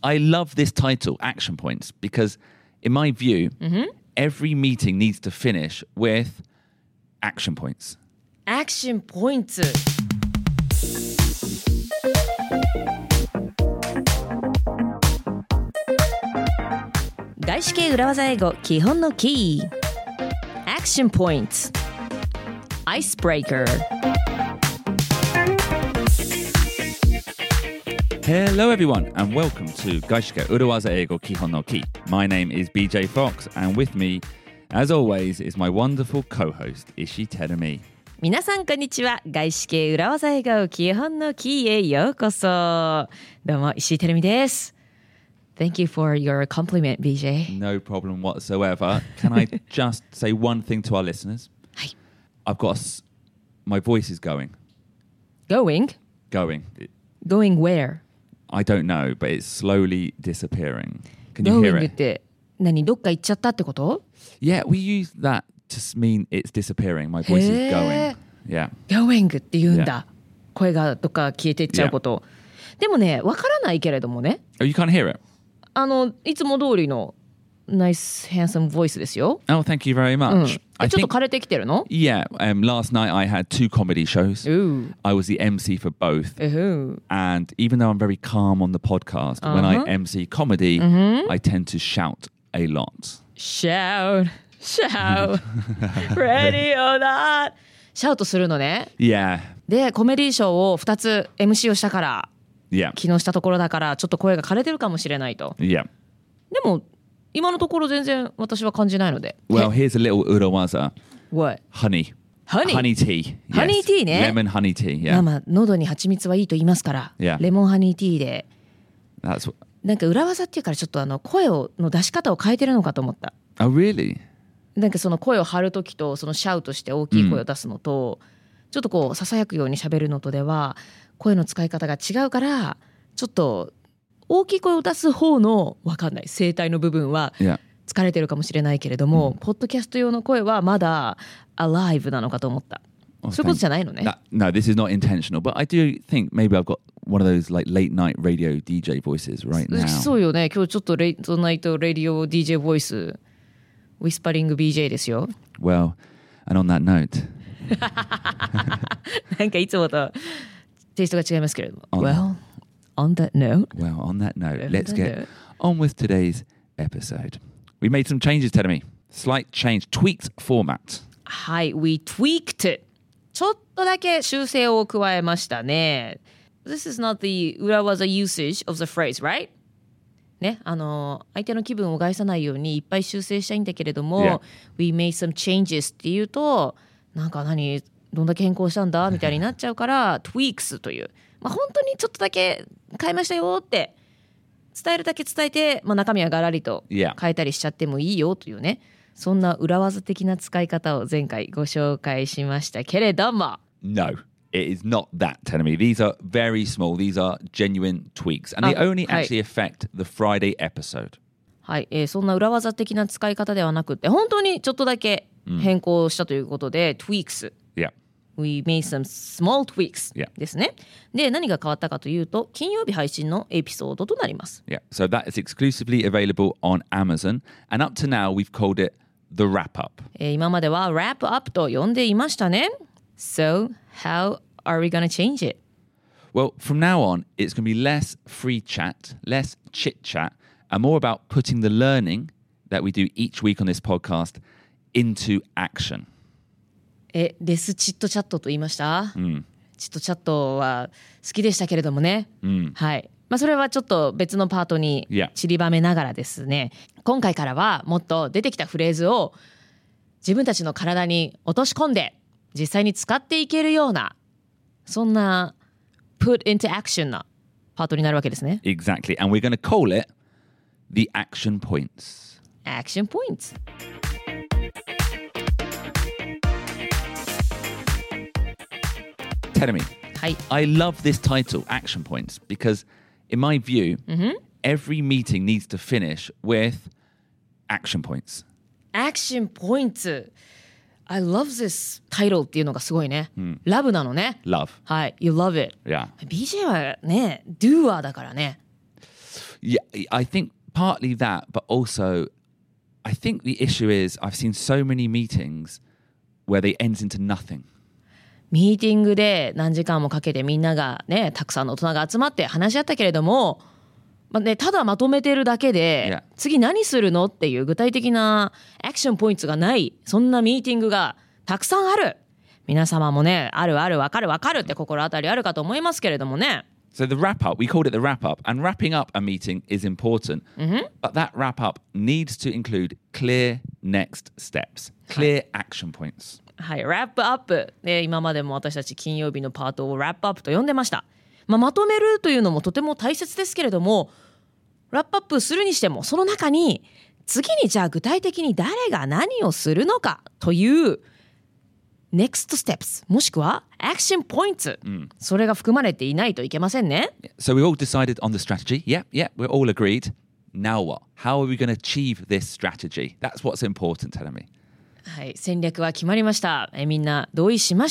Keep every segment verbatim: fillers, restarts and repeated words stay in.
I love this title, Action Points, because in my view, mm-hmm. every meeting needs to finish with action points. Action points. 外資系裏技英語基本のキー Action Points Icebreaker Hello everyone and welcome to 外資系裏技英語基本のキー My name is B J Fox and with me as always is my wonderful co-host Ishii Terumi 皆さんこんにちは。外資系裏技英語基本のキーへようこそ。どうも石井てるみです。Thank you for your compliment, B J. No problem whatsoever. Can I just say one thing to our listeners? はい。 I've got a s- my voice is going. Going? Going. Going where? I don't know, but it's slowly disappearing. Can you Going hear it? って何どっか行っちゃったってこと Yeah, we use that to mean it's disappearing. My voice is へー going. Yeah. Going って言うんだ。 Yeah. 声がどっか消えていっちゃうこと。でもね、わからないけれどもね。 Oh, you can't hear it? あの、いつも通りの nice, handsome voice ですよ。 Oh, thank you very うん。 much. え I ちょっと think, 枯れてきてるの yeah, um, last night I had two comedy shows. Ooh. I was the M C for both. Ooh. And even though I'm very calm on the podcast, when I M C comedy, I tend to shout a lot. Shout, shout, ready or not. シャウトするのね。 Yeah. で、コメディーショーをふたつ エムシー をしたから、 Yeah. 昨日したところだから、ちょっと声が枯れてるかもしれないと。 Yeah. でも、今のところ全然私は感じないので。 Well, here's a little urawaza. What? Honey. Honey? Honey tea. Yes. Honey tea ね。 Lemon honey tea. まあ Yeah. まあ、喉に蜂蜜はいいと言いますから、 Yeah. レモンハニーティーで、 That's what... なんか裏技っていうからちょっとあの声をの出し方を変えてるのかと思った。 Oh, really? なんかその声を張るときと、そのシャウトして大きい声を出すのと、ちょっとこう囁くように喋るのとでは声の使い方が違うから、ちょっと大きい声を出す方のわかんない声帯の部分は Yeah. 疲れてるかもしれないけれども、ポッドキャスト用の声はまだ alive なのかと思った。 Oh, そういうことじゃないのね。 That, no, this is not intentional, but I do think maybe I've got one of those like late night radio D J voices right now. そうよね。今日ちょっとレイトナイトレディオ ディージェー ボイスウィスパリング ビージェー ですよ。 Well, and on that note, なんかいつもとテイストが違いますけれども。 On- Well, on that note, well, on that note, On let's that get note. on with today's episode. We made some changes, Terumi. Slight change, tweaked format. はい、we tweaked. ちょっとだけ修正を加えましたね。This is not the 裏技 usage of the phrase, right? ね、あの相手の気分を害さないようにいっぱい修正したいんだけれども、 Yeah. we made some changes っていうと、なんか何どんだけ変更したんだみたいになっちゃうからtweaks という、まあ、本当にちょっとだけ変えましたよって伝えるだけ伝えて、まあ、中身はガラリと Yeah. 変えたりしちゃってもいいよというね、そんな裏技的な使い方を前回ご紹介しましたけれども、 No, it is not that, Terumi. These are very small. These are genuine tweaks. And they Oh, only hi. actually affect the Friday episode. はい、えーそんな裏技的な使い方ではなくて、本当にちょっとだけ変更したということで、tweaks Yeah. We made some small tweaks、 Yeah. ですね。で、何が変わったかというと、金曜日配信のエピソードとなります。 Yeah. So that is exclusively available on Amazon. And up to now, we've called it the wrap up. えー今までは wrap up と呼んでいましたね。So, how are we gonna change it? Well, from now on, it's going to be less free chat, less chit chat, and more about putting the learning that we do each week on this podcast into action. え、レスチットチャットと言いました、チットチャットは好きでしたけれどもね。はい。まあ、それはちょっと別のパートに Yeah. 散りばめながらですね、今回からはもっと出てきたフレーズを自分たちの体に落とし込んで実際に使っていけるような、そんな put into action なパートになるわけですね。 Exactly. And we're going to call it the action points. Action points. Terumi, はい。 I love this title, Action Points, because in my view, every meeting needs to finish with action points. Action points. I love this title っていうのがすごいね。ラブなのね。 Love. はい。You love it. Yeah. ビージェー はね、doer だからね。 Yeah, I think partly that, but also I think the issue is I've seen so many meetings where they ends into nothing. ミーティングで何時間もかけてみんながね、たくさんの大人が集まって話し合ったけれども、まあね、ただまとめてるだけで、 Yeah. 次何するのっていう具体的なアクションポイントがない、そんなミーティングがたくさんある。皆様もね、あるある、わかるわかるって心当たりあるかと思いますけれどもね。 So the wrap up, we called it the wrap up, and wrapping up a meeting is important. Mm-hmm. But that wrap up needs to include clear next steps, clear action points. はい、ラップアップで今までも私たち金曜日のパートをラップアップと呼んでました。まあ、まとめるというのもとても大切ですけれども、ラップアップするにしてもその中に次にじゃあ具体的に誰が何をするのかというnext steps もしくは action points、うん、それが含まれていないといけませんね。 So we all decided on the strategy. Yeah, yeah, we're all agreed. Now what? How are we going to achieve this strategy? That's what's important, tell me. はい、戦略は決まりました。えみんな同意しました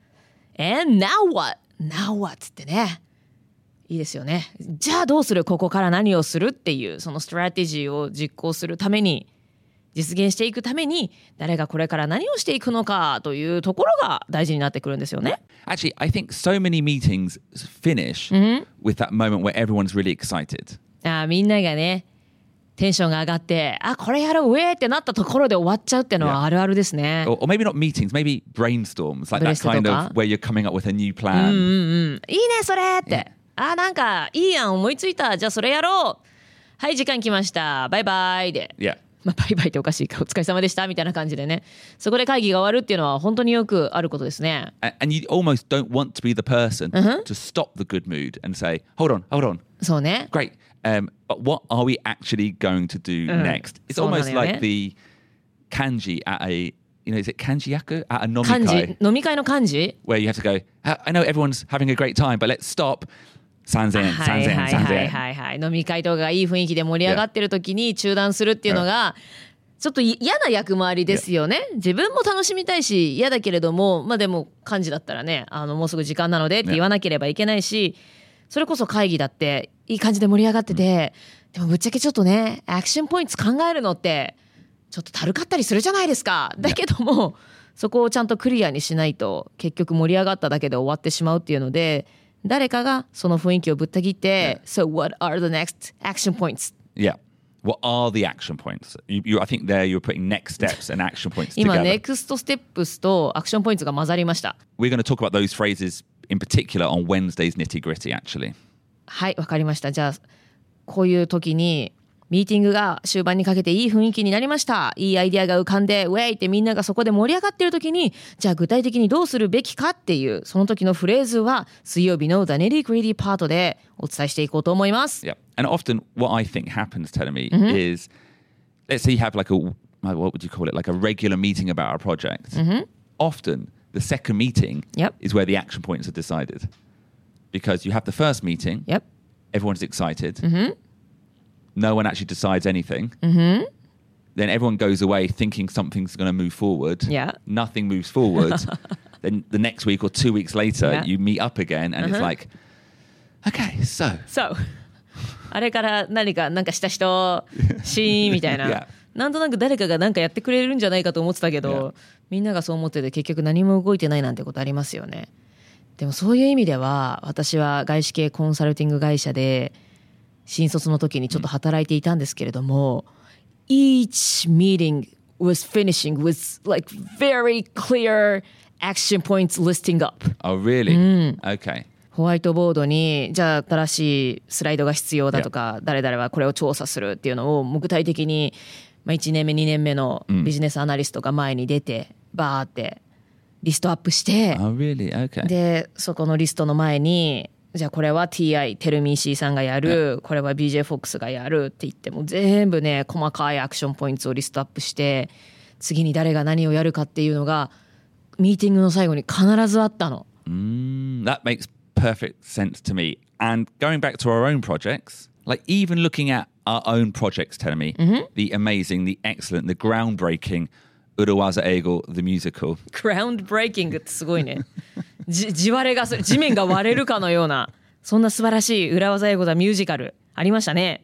。And now what? Now what? ってね。いいですよね。じゃあどうする？ここから何をするっていうそのストラテジーを実行するために、実現していくために誰がこれから何をしていくのかというところが大事になってくるんですよね。 Actually, I think so many meetings finish、mm-hmm. with that moment where everyone's really excited. ああ、みんながね、テンションが上がって、あ、これやろう、ウェーってなったところで終わっちゃうっていうのはあるあるですね。 Yeah. Or, or maybe not meetings, maybe brainstorms, like that kind of where you're coming up with a new plan. うんうんうん。いいね、それって。Yeah. あ、なんかいいやん、思いついた。じゃあそれやろう。はい、時間来ました。バイバイで。 Yeah. まあ、バイバイっておかしいか、お疲れ様でしたみたいな感じでね、そこで会議が終わるっていうのは本当によくあることですね。 And you almost don't want to be the person、uh-huh. to stop the good mood and say, hold on, hold on. そうね。 Great. Um, but what are we actually going to do、うん、next? It's almost like the kanji at a, you know, is it kanji-yaku? At a 飲み会。 漢字、飲み会の漢字 Where you have to go, I know everyone's having a great time, but let's stop.さんぜんえん、さんぜんえん、さんぜんえん。 はいはいはいはい。飲み会とかがいい雰囲気で盛り上がってる時に中断するっていうのが、ちょっと嫌な役回りですよね。自分も楽しみたいし、嫌だけれども、まあでも幹事だったらね、あの、もうすぐ時間なのでって言わなければいけないし、それこそ会議だって、いい感じで盛り上がってて、でもぶっちゃけちょっとね、アクションポイント考えるのって、ちょっとたるかったりするじゃないですか。だけども、そこをちゃんとクリアにしないと、結局盛り上がっただけで終わってしまうっていうので、誰かがその雰囲気をぶった切って、yeah. So what are the next action points? Yeah. What are the action points? You, you, I think there you're putting next steps and action points together. 今、next steps とアクションポイントが混ざりました。 We're going to talk about those phrases in particular on Wednesday's nitty gritty, actually. はい、わかりました。じゃあ、こういう時に、ミーティングが終盤にかけていい雰囲気になりました。いいアイデアが浮かんで、ウェイってみんながそこで盛り上がってる時に、じゃあ具体的にどうするべきかっていう、その時のフレーズは、水曜日の The Nitty Gritty パートでお伝えしていこうと思います。 Yeah. And often what I think happens, Telemi,、mm-hmm. is, let's say you have like a, what would you call it, like a regular meeting about our project.、Mm-hmm. Often, the second meeting yep. is where the action points are decided. Because you have the first meeting, yep. everyone's excited.、Mm-hmm.No one actually decides anything.、Mm-hmm. Then everyone goes away thinking something's going to move forward. Yeah. Nothing moves forward. Then the next week or two weeks later, yeah. you meet up again and、uh-huh. it's like, okay, so. So. あれから何かなんかした人、シーンみたいな。yeah. なんとなく誰かが何かやってくれるんじゃないかと思ってたけど、yeah. みんながそう思ってて結局何も動いてないなんてことありますよね。でもそういう意味では、私は外資系コンサルティング会社で、新卒の時にちょっと働いていたんですけれども、うん、each meeting was finishing with like very clear action points listing up. Oh, really?、うん、Okay. ホワイトボードに、じゃあ新しいスライドが必要だとか、yeah. 誰々はこれを調査するっていうのを具体的に、まあ、いちねんめ、にねんめのビジネスアナリストが前に出て、うん、バーってリストアップして、 oh, really? Okay. で、そこのリストの前に、じゃあこれは ティーアイ テルミー C さんがやる、これは ビージェー フォックスがやるって言っても全部ね細かいアクションポイントをリストアップして次に誰が何をやるかっていうのがミーティングの最後に必ずあったの。 Mm, that makes perfect sense to me. And going back to our own projects, like even looking at our own projects, tell me、mm-hmm. the amazing, the excellent, the groundbreaking Urawaza Eigo, the musical. Groundbreaking ってすごいね。じ地割れがする、地面が割れるかのような、そんな素晴らしい裏技英語だミュージカルありましたね。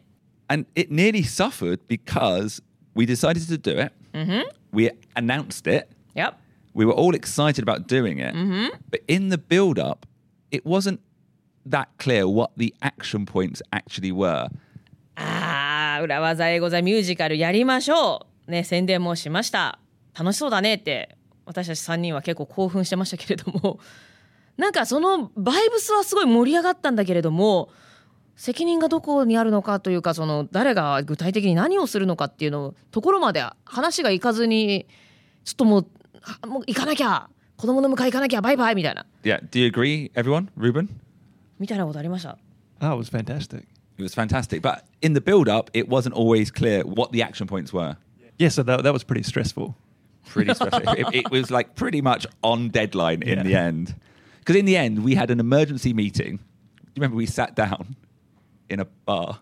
And it nearly suffered because we decided to do it. Mm-hmm. We announced it. Yep. We were all excited about doing it. Mm-hmm. But in the build-up, it wasn't that clear what the action points actually were. ああ、裏技英語ザミュージカルやりましょう。ね、宣伝もしました。楽しそうだねって私たちさんにんは結構興奮してましたけれども、なんかそのバイブスはすごい盛り上がったんだけれども、責任がどこにあるのかというか、その誰が具体的に何をするのかっていうのところまで話がいかずに、ちょっともうもう行かなきゃ、子供の迎え行かなきゃ、バイバイみたいな。 Yeah, do you agree, everyone? Ruben? みたいなことありました。 Oh, it was fantastic. It was fantastic. But in the build-up, it wasn't always clear what the action points were. Yeah, so that, that was pretty stressful. Pretty stressful. it, it was like pretty much on deadline in Yeah. the end. Because in the end, we had an emergency meeting. You remember we sat down in a bar.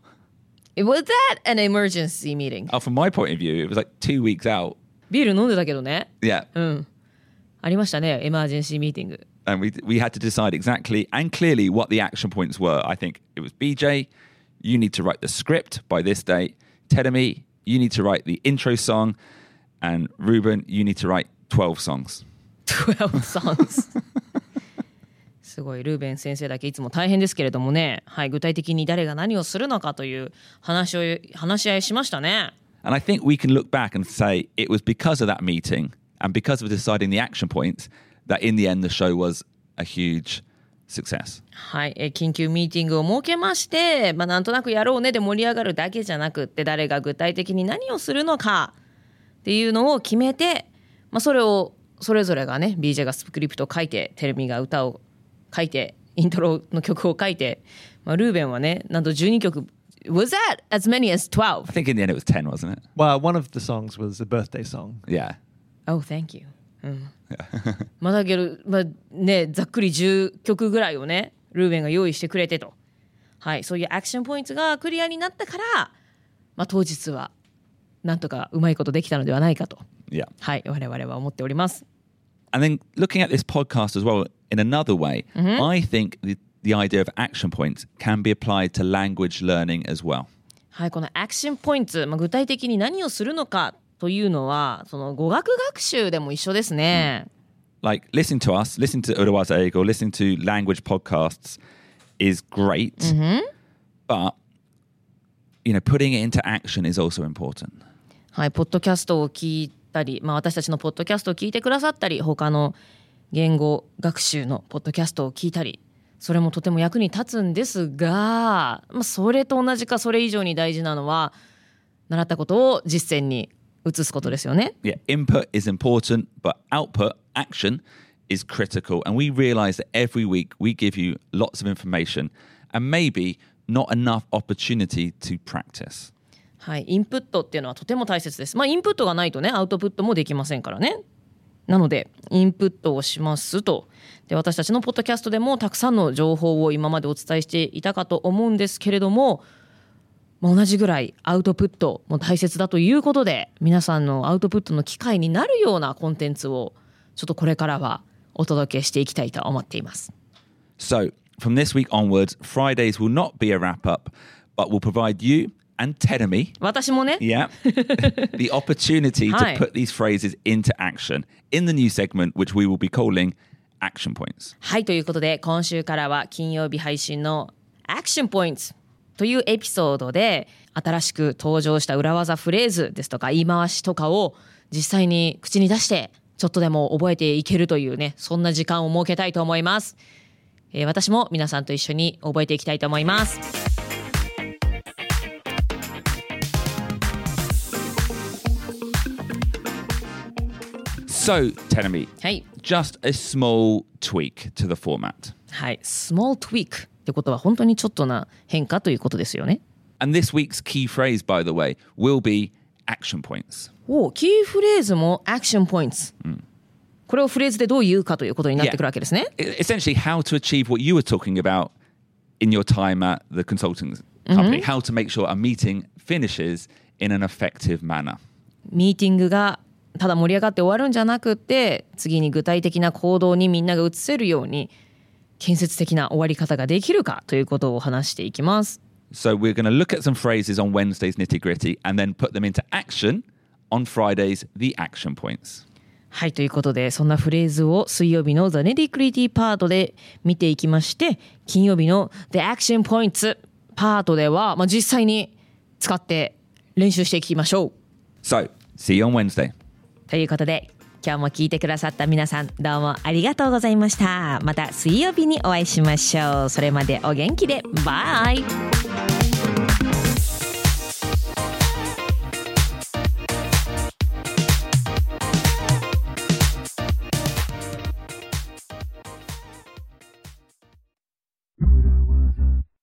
Was that an emergency meeting? Oh, from my point of view, it was like two weeks out. ビール飲んでたけどね。 Yeah. うん。ありましたね、エマージェンシーミーティング。 And we we had to decide exactly and clearly what the action points were. I think it was B J, you need to write the script by this date. Teremi, you need to write the intro song. And Ruben, you need to write twelve songs. twelve songs すごいルーベン先生だけいつも大変ですけれどもね、はい、具体的に誰が何をするのかという話を話し合いしましたね。 And I think we can look back and say it was because of that meeting and because of deciding the action points that in the end the show was a huge success. はい、え緊急ミーティングを設けまして、まあ、なんとなくやろうねで盛り上がるだけじゃなくって、誰が具体的に何をするのかっていうのを決めて、まあ、それをそれぞれがね ビージェー がスクリプトを書いて、テレミが歌を書いて、イントロの曲を書いて、まあ、ルーベンはねなんとじゅうにきょく Was that as many as twelve? I think in the end it was ten, wasn't it? Well, one of the songs was a birthday song. Yeah. Oh, thank you. うん、まあだけど、まあね、ざっくりじゅっきょくぐらいをねルーベンが用意してくれてと、はい、そういうアクションポイントがクリアになったから、まあ、当日はなんとかうまいことできたのではないかと、 Yeah. はい、我々は思っております。 And then looking at this podcast as well in another way, Mm-hmm. I think the, the idea of action points can be applied to language learning as well. はい、このアクションポイント、まあ、具体的に何をするのかというのはその語学学習でも一緒ですね。 Like listening to us, listening to Urawaza Eigo, listening to language podcasts is great, but you know, putting it into action is also important. はい、ポッドキャストを聞いたり、まあ、私たちのポッドキャストを聞いてくださったり、他の言語学習のポッドキャストを聞いたり、それもとても役に立つんですが、まあ、それと同じかそれ以上に大事なのは習ったことを実践に移すことですよね。 Yeah, input is important, but output, action, is critical. And we realize that every week we give you lots of information and maybe not enough opportunity to practice. はい、インプットっていうのはとても大切です。まあインプットがないとね、アウトプットもできませんからね。なのでインプットをしますと。で、私たちのポッドキャストでもたくさんの情報を今までお伝えしていたかと思うんですけれども、まあ、同じぐらいアウトプットも大切だということで、皆さんのアウトプットの機会になるようなコンテンツをちょっとこれからはお届けしていきたいと思っています。 So from this week onwards, Fridays will not be a wrap-up, but will provide you and Teremi, 私もね、 yeah, the opportunity to Hi. put these phrases into action in the new segment, which we will be calling Action Points. はい、ということで今週からは金曜日配信のアクションポイントというエピソードで新しく登場した裏技フレーズですとか言い回しとかを実際に口に出してちょっとでも覚えていけるというね、そんな時間を設けたいと思います。えー、私も皆さんと一緒に覚えていきたいと思います。 So, Teremi, はい、 just a small tweak to the format. はい、small tweak ってことは本当にちょっとな変化ということですよね。 And this week's key phrase, by the way, will be action points. お、キーフレーズもアクションポイント、うん、これをフレーズでどう言うかということになってくるわけですね。 Yeah. Essentially, how to achieve what you were talking about in your time at the consulting company. Mm-hmm. How to make sure a meeting finishes in an effective manner. ミーティングがただ盛り上がって終わるんじゃなくて、次に具体的な行動にみんなが移せるように建設的な終わり方ができるかということを話していきます。 So we're going to look at some phrases on Wednesday's nitty gritty and then put them into action on Friday's the action points. はい、ということでそんなフレーズを水曜日の The Nitty-Gritty パートで見ていきまして、金曜日の The Action Points パートでは、まあ、実際に使って練習していきましょう。 So, see you on Wednesday. ということで今日も聞いてくださった皆さんどうもありがとうございました。また水曜日にお会いしましょう。それまでお元気でバイ。